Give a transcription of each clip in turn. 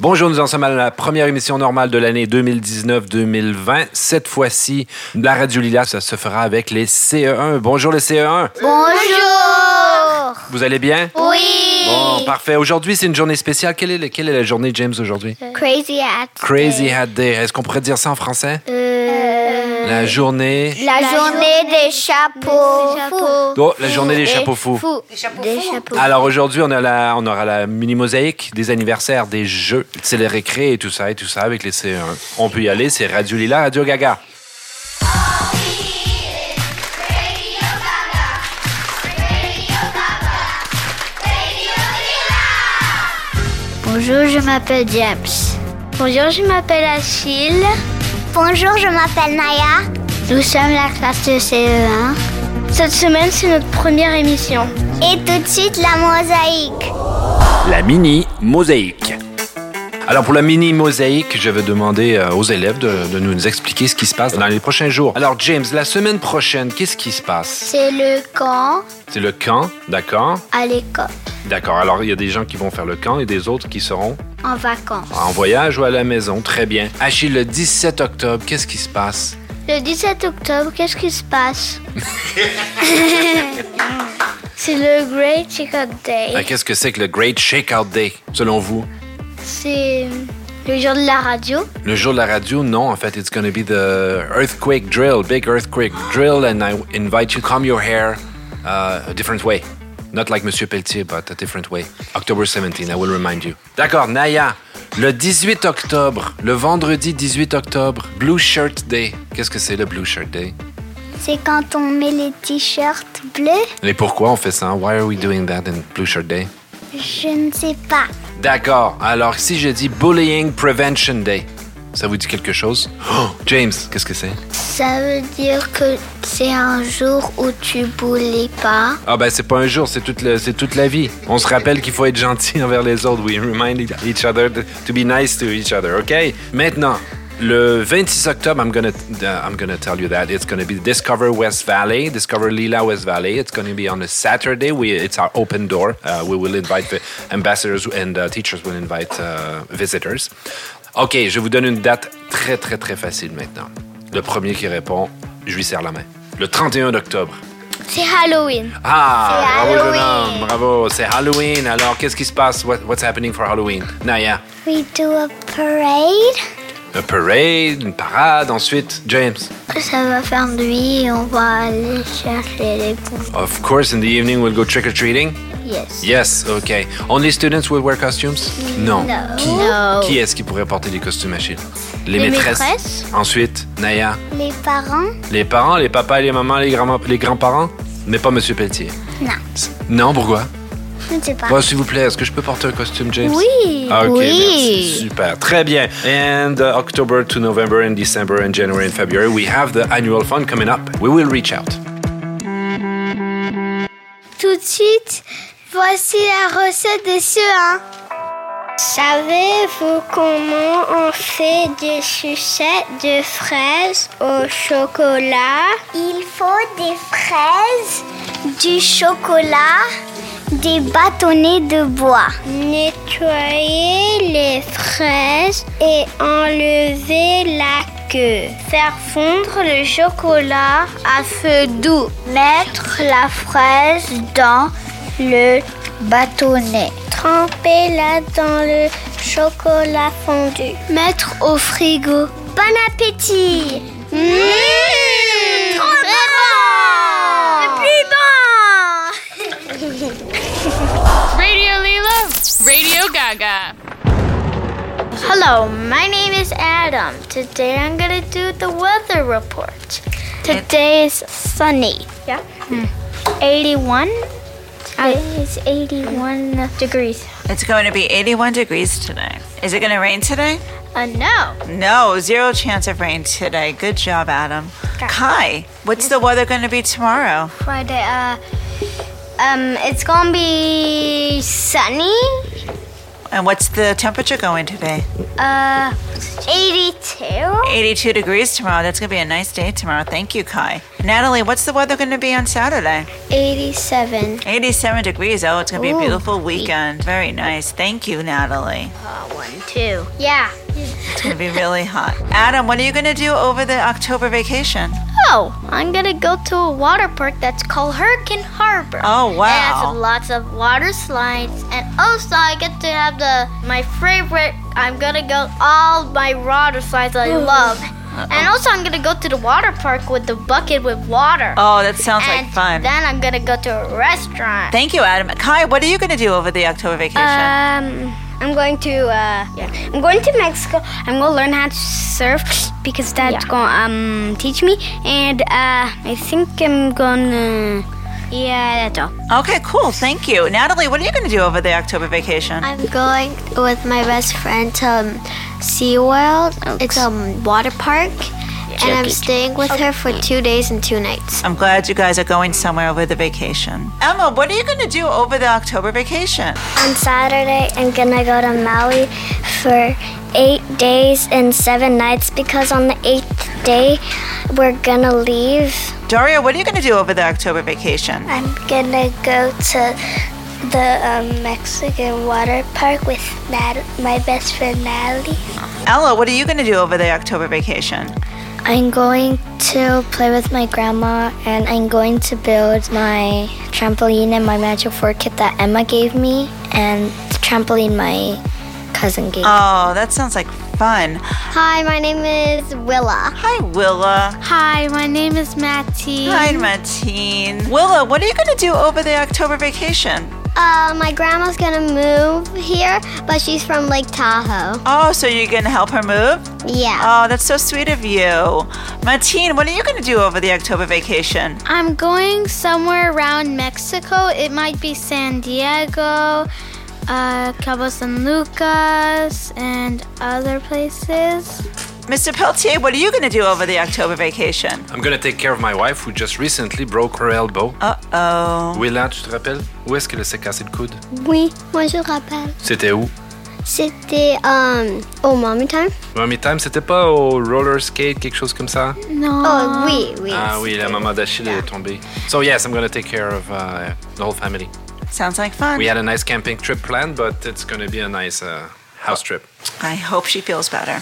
Bonjour, nous en sommes à la première émission normale de l'année 2019-2020. Cette fois-ci, la Radio Lila, ça se fera avec les CE1. Bonjour les CE1. Bonjour. Vous allez bien? Oui. Bon, parfait. Aujourd'hui, c'est une journée spéciale. Quelle est la journée, James, aujourd'hui? Crazy Hat. Crazy Hat Day. Est-ce qu'on pourrait dire ça en français? La journée... La journée des chapeaux. Oh, la journée des chapeaux fous. Des chapeaux. Alors aujourd'hui, on aura la mini-mosaïque, des anniversaires, des jeux, c'est les récrés et tout ça avec les CE1. On peut y aller, c'est Radio Lila, Radio Gaga. Bonjour, je m'appelle James. Bonjour, je m'appelle Achille. Bonjour, je m'appelle Naya. Nous sommes la classe de CE1. Cette semaine, c'est notre première émission. Et tout de suite, la mosaïque. La mini-mosaïque. Alors pour la mini-mosaïque, je vais demander aux élèves de nous expliquer ce qui se passe dans les prochains jours. Alors James, la semaine prochaine, qu'est-ce qui se passe? C'est le camp C'est le camp, d'accord? à l'école, D'accord, alors il y a des gens qui vont faire le camp et des autres qui seront en vacances. en voyage ou à la maison, très bien. Achille, le 17 octobre, qu'est-ce qui se passe? Le 17 octobre, qu'est-ce qui se passe? C'est le Great Shakeout Day. Qu'est-ce que c'est que le Great Shakeout Day, selon vous? C'est le jour de la radio. Le jour de la radio, non. En fait, it's going to be the earthquake drill, big earthquake drill, and I invite you to comb your hair a different way. Not like Monsieur Pelletier, but a different way. October 17, I will remind you. D'accord, Naya, le 18 octobre, le vendredi 18 octobre, Blue Shirt Day. Qu'est-ce que c'est le Blue Shirt Day? C'est quand on met les t-shirts bleus. Et pourquoi on fait ça? Why are we doing that in Blue Shirt Day? Je ne sais pas. D'accord, alors si je dis Bullying Prevention Day, ça vous dit quelque chose? Oh, James, qu'est-ce que c'est? Ça veut dire que c'est un jour où tu boules pas. Ah ben c'est pas un jour, c'est toute la vie. On se rappelle qu'il faut être gentil envers les autres. We remind each other to be nice to each other, OK? Maintenant, le 26 octobre, I'm gonna tell you that it's gonna be Discover West Valley, Discover Lila West Valley. It's gonna be on a Saturday. It's our open door. We will invite the ambassadors and teachers will invite visitors. OK, je vous donne une date très, très, très facile maintenant. Le premier qui répond, je lui serre la main. Le 31 octobre. C'est Halloween. Ah, C'est bravo, Halloween. jeune homme, bravo. C'est Halloween. Alors, qu'est-ce qui se passe? What's happening for Halloween? Naya? We do a parade. Un parade, une parade. Ensuite, James? Ça va faire nuit et on va aller chercher les bonbons. Of course, in the evening, we'll go trick-or-treating. Yes. Yes, okay. Only students will wear costumes? Non. No. Qui est-ce qui pourrait porter des costumes, Achille? Les maîtresses. Ensuite, Naya? Les parents. Les parents, les papas, les mamans, les grands-parents? Mais pas Monsieur Pelletier. Non. Non, pourquoi? Je ne sais pas. Bon, s'il vous plaît, est-ce que je peux porter un costume, James? Oui. Ah, OK, Oui. merci. Super. Très bien. And October to November and December and January and February, we have the annual fund coming up. We will reach out. Tout de suite, voici la recette des CE1. Savez-vous comment on fait des sucettes de fraises au chocolat? Il faut des fraises, du chocolat, des bâtonnets de bois. Nettoyer les fraises et enlever la queue. Faire fondre le chocolat à feu doux. Mettre la fraise dans le bâtonnet. Trempez-la dans le chocolat fondu. Mettre au frigo. Bon appétit! Trop bon! Le plus bon! Radio Lila, Radio Gaga. Hello, my name is Adam. Today I'm gonna do the weather report. Today is sunny. Yeah. 81. It's 81 degrees. It's going to be 81 degrees today. Is it going to rain today? No. No, 0 chance of rain today. Good job, Adam. Okay. Kai, what's the weather going to be tomorrow? Friday. It's gonna be sunny. And what's the temperature going to be? 82. 82 degrees tomorrow. That's going to be a nice day tomorrow. Thank you, Kai. Natalie, what's the weather going to be on Saturday? 87. 87 degrees. Oh, it's going to be a beautiful weekend. Very nice. Thank you, Natalie. 1, 2. Yeah. It's going to be really hot. Adam, what are you going to do over the October vacation? Oh, I'm gonna go to a water park that's called Hurricane Harbor. Oh, wow. It has lots of water slides, and also I get to have my favorite. I'm gonna go all my water slides I love. And also I'm gonna go to the water park with the bucket with water. Oh, that sounds like fun. Then I'm gonna go to a restaurant. Thank you, Adam. Kai, what are you going to do over the October vacation? I'm going to Mexico. I'm gonna learn how to surf because Dad's gonna teach me, and I think I'm gonna. Yeah, that's all. Okay, cool. Thank you. Natalie, what are you going to do over the October vacation? I'm going with my best friend to SeaWorld. It's a water park, and I'm staying with her for 2 days and 2 nights. I'm glad you guys are going somewhere over the vacation. Emma, what are you going to do over the October vacation? On Saturday, I'm gonna go to Maui for 8 days and 7 nights because on the 8th day, we're gonna leave. Daria, what are you going to do over the October vacation? I'm gonna go to the Mexican water park with my best friend Natalie. Ella, what are you going to do over the October vacation? I'm going to play with my grandma, and I'm going to build my trampoline and my magic four kit that Emma gave me, and the trampoline my cousin gave me. Oh, that sounds like fun. Hi, my name is Willa. Hi, Willa. Hi, my name is Mattie. Hi, Mateen. Willa, what are you going to do over the October vacation? My grandma's gonna move here, but she's from Lake Tahoe. Oh, so you're going to help her move? Yeah. Oh, that's so sweet of you. Mateen, what are you going to do over the October vacation? I'm going somewhere around Mexico. It might be San Diego, Cabo San Lucas, and other places. Mr. Pelletier, what are you going to do over the October vacation? I'm gonna take care of my wife who just recently broke her elbow. Uh-oh. Willa, tu te rappelles? Où est-ce qu'elle s'est cassé le coude? Oui, moi je rappelle. C'était où? C'était au Mommy Time. Mommy Time, c'était pas au roller skate, quelque chose comme ça? Non. Oh, oui, oui. Ah oui, la maman d'Achille est tombée. So yes, I'm gonna take care of the whole family. Sounds like fun. We had a nice camping trip planned, but it's gonna be a nice house trip. I hope she feels better.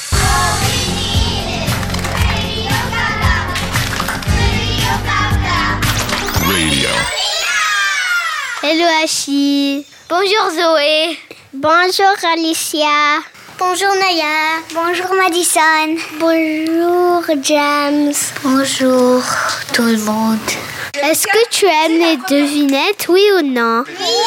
Radio. Hello Achille. Bonjour Zoé. Bonjour Alicia. Bonjour Naya. Bonjour Madison. Bonjour James. Bonjour tout le monde. Est-ce que tu aimes les devinettes, oui ou non?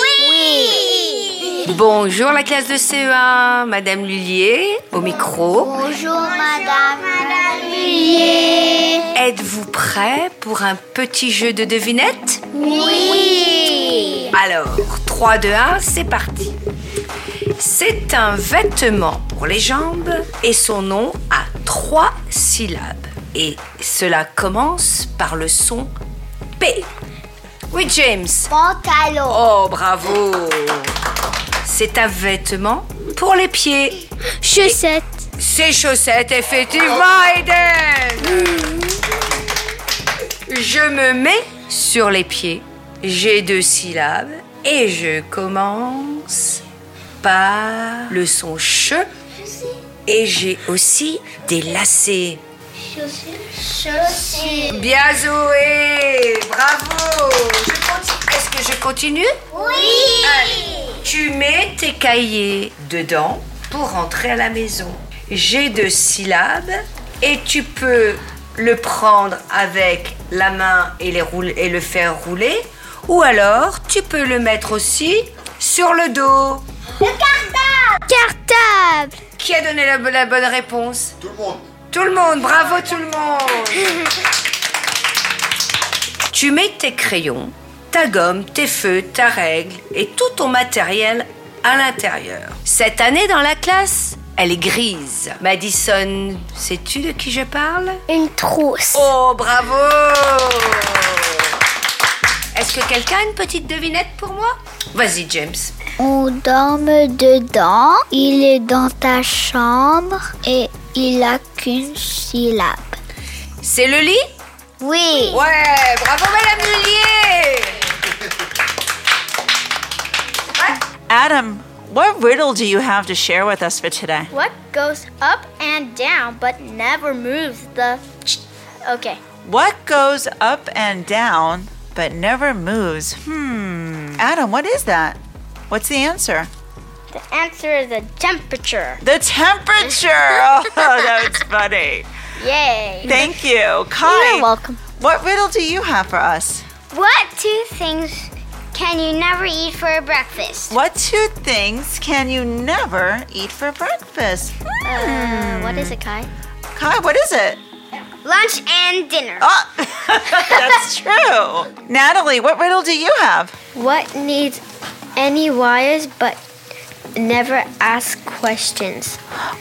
Oui. Bonjour la classe de CE1, Madame Lullier, au micro. Bonjour Madame Lullier. Êtes-vous prêts pour un petit jeu de devinettes? Oui. Alors, 3, 2, 1, c'est parti. C'est un vêtement pour les jambes et son nom a 3 syllabes. Et cela commence par le son P. Oui, James. Pantalon. Oh, bravo. C'est un vêtement pour les pieds. Chaussettes. Ces chaussettes, effectivement, Aiden. Je me mets sur les pieds. J'ai 2 syllabes et je commence par le son che. Et j'ai aussi des lacets. Chaussures. Bien Zoé, bravo. Est-ce que je continue? Oui. Allez. Tu mets tes cahiers dedans pour rentrer à la maison. J'ai 2 syllabes et tu peux le prendre avec la main et le faire rouler, ou alors tu peux le mettre aussi sur le dos. Le cartable. Cartable. Qui a donné la bonne réponse? Tout le monde. Tout le monde, bravo tout le monde. Tu mets tes crayons, ta gomme, tes feutres, ta règle et tout ton matériel à l'intérieur. Cette année dans la classe, elle est grise. Madison, sais-tu de qui je parle? Une trousse. Oh, bravo! Est-ce que quelqu'un a une petite devinette pour moi? Vas-y, James. On dorme dedans, il est dans ta chambre et il a qu'une syllabe. C'est le lit? Oui. Ouais, bravo Madame Lullier. Adam, what riddle do you have to share with us for today? What goes up and down but never moves the... Okay. What goes up and down but never moves? Adam, what is that? What's the answer? The answer is the temperature. The temperature! Oh, that was funny. Yay. Thank you. Kai, You're welcome. what riddle do you have for us? What two things can you never eat for breakfast? What two things can you never eat for breakfast? What is it, Kai? Kai, what is it? Lunch and dinner. Oh, that's true. Natalie, what riddle do you have? What needs any wires but never asks questions?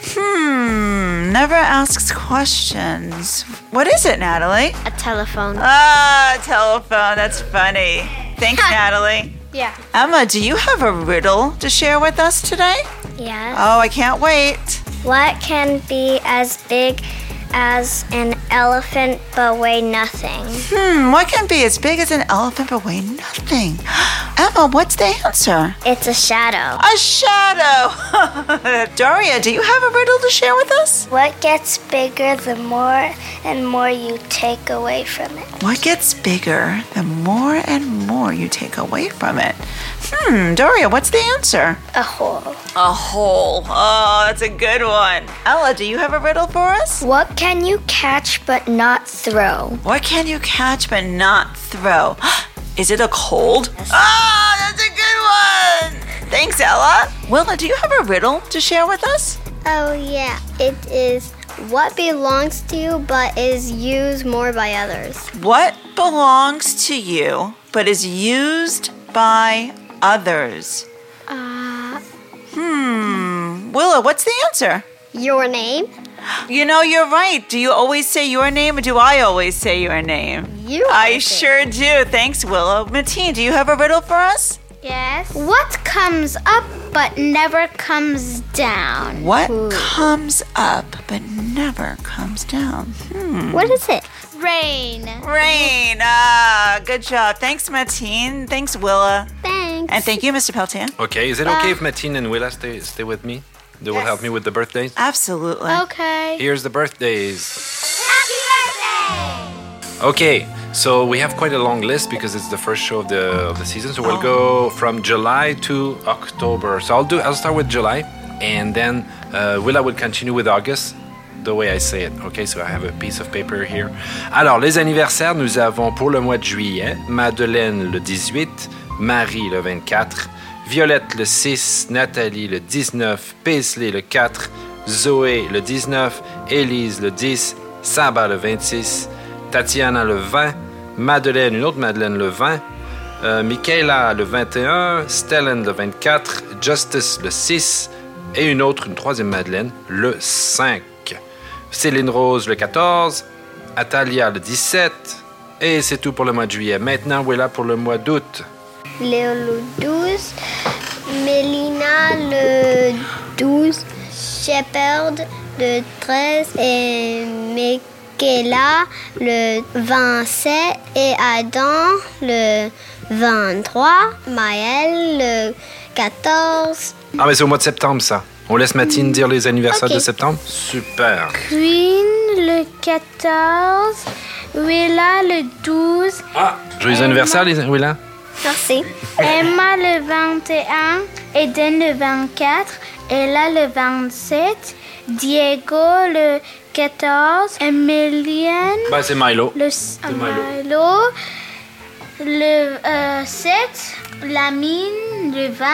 Never asks questions. What is it, Natalie? A telephone. Ah, telephone. That's funny. Thanks, Natalie. Yeah. Emma, do you have a riddle to share with us today? Yes. Oh, I can't wait. What can be as big as an elephant but weigh nothing? What can be as big as an elephant but weigh nothing? Emma, what's the answer? It's a shadow. A shadow. Daria, do you have a riddle to share with us? What gets bigger the more and more you take away from it? What gets bigger the more and more you take away from it? Daria, what's the answer? A hole. A hole. Oh, that's a good one. Ella, do you have a riddle for us? What can you catch but not throw? What can you catch but not throw? Is it a cold? Oh, that's a good one. Thanks, Ella. Willa, do you have a riddle to share with us? Oh, yeah. It is what belongs to you but is used more by others. What belongs to you but is used by others? Willa, what's the answer? Your name? You know, you're right. Do you always say your name or do I always say your name? You. I sure do. Thanks, Willow. Mateen, do you have a riddle for us? Yes. What comes up but never comes down? What comes up but never comes down? What is it? Rain. Rain. Ah, good job. Thanks, Mateen. Thanks, Willa. Thanks. And thank you, Mr. Peltier. Okay, is it okay if Mateen and Willa stay with me? They will help me with the birthdays. Absolutely. Okay. Here's the birthdays. Happy birthday! Okay, so we have quite a long list because it's the first show of the season. So we'll go from July to October. So I'll start with July, and then Willa will continue with August, the way I say it. Okay, so I have a piece of paper here. Alors, les anniversaires, nous avons pour le mois de juillet, Madeleine le 18, Marie le 24, Violette le 6, Nathalie le 19, Paisley le 4, Zoé le 19, Élise le 10, Saba le 26, Tatiana le 20, Madeleine, une autre Madeleine le 20, Michaela le 21, Stellan le 24, Justice le 6 et une troisième Madeleine le 5. Céline Rose le 14, Atalia le 17 et c'est tout pour le mois de juillet. Maintenant, voilà pour le mois d'août. Léo le 12, Mélina le 12, Shepard le 13 et Michaela le 27 et Adam le 23, Maël le 14. Ah, mais c'est au mois de septembre, ça. On laisse Mathilde dire les anniversaires Ok. de septembre? Super. Queen le 14, Willa le 12, Ah, joyeux anniversaire, Willa. Merci. Emma le 21, Eden le 24, Ella le 27, Diego le 14, Emilienne Ben, c'est Milo. le Milo. le 7, Lamine le 20,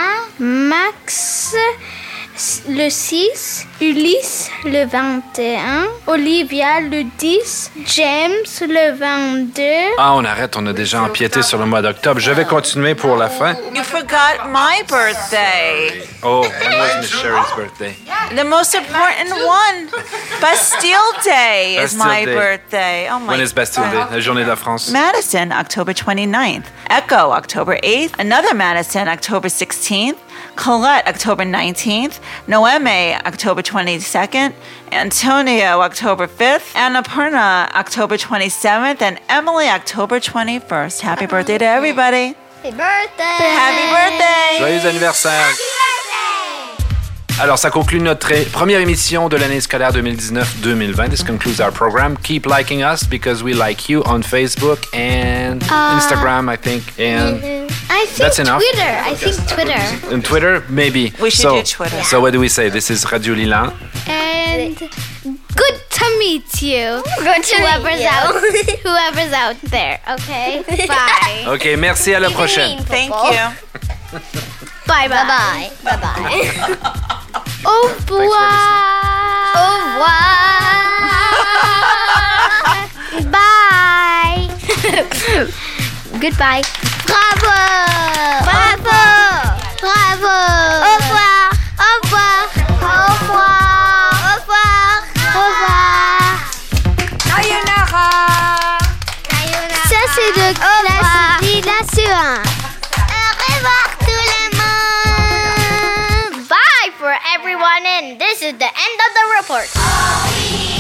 Max le 6, Ulysse le 21, Olivia le 10, James le 22. Ah, on arrête, on a déjà empiété sur le mois d'octobre. Je vais continuer pour la fin. You forgot my birthday. Oh, when was Miss Sherry's birthday? The most important one. Bastille Day is Bastille my Day. birthday. Oh my When is Bastille Day? La journée de la France. Madison, October 29th. Echo, October 8th. Another Madison, October 16th. Colette, October 19th. Noeme, October 22nd. Antonio, October 5th. Annapurna, October 27th. And Emily, October 21st. Happy birthday to everybody. Happy birthday! Happy birthday! Joyeux anniversaire! Alors, ça conclut notre première émission de l'année scolaire 2019-2020. This concludes our program. Keep liking us because we like you on Facebook and Instagram, I think. And I think that's enough. Twitter. I think Twitter. And Twitter, maybe. We should do Twitter. So what do we say? This is Radio Lilan. And good to meet you. Good to Whoever's meet you. out, whoever's out there. Okay. Bye. OK, merci, à la prochaine. Thank you. Bye. Bye. Bye-bye. Bye-bye. Au revoir. Au revoir. Bye. Goodbye. Bravo. Bravo. Bravo. Au revoir. Au revoir. Au revoir. Au revoir. Au revoir. Sayonara. Ça, c'est de classe Lila sur 1. Au revoir tout le monde. Bye for everyone, and this is the end of the report.